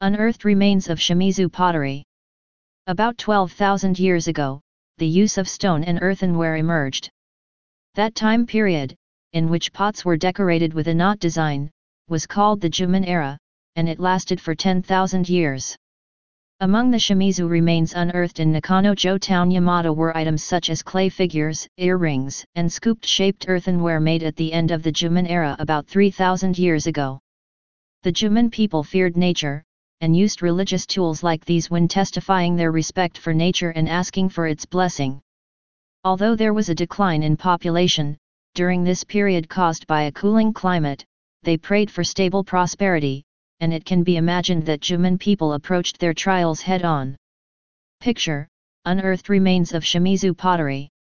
Unearthed remains of Shimizu pottery. About 12,000 years ago, the use of stone and earthenware emerged. That time period, in which pots were decorated with a knot design, was called the Jumon era, and it lasted for 10,000 years. Among the Shimizu remains unearthed in Nakano-jo town Yamato were items such as clay figures, earrings, and scoop-shaped earthenware made at the end of the Jumon era about 3,000 years ago. The Jumon people feared nature, and used religious tools like these when testifying their respect for nature and asking for its blessing. Although there was a decline in population, during this period caused by a cooling climate, they prayed for stable prosperity, and it can be imagined that Jumon people approached their trials head-on. Picture: unearthed remains of Shimizu pottery.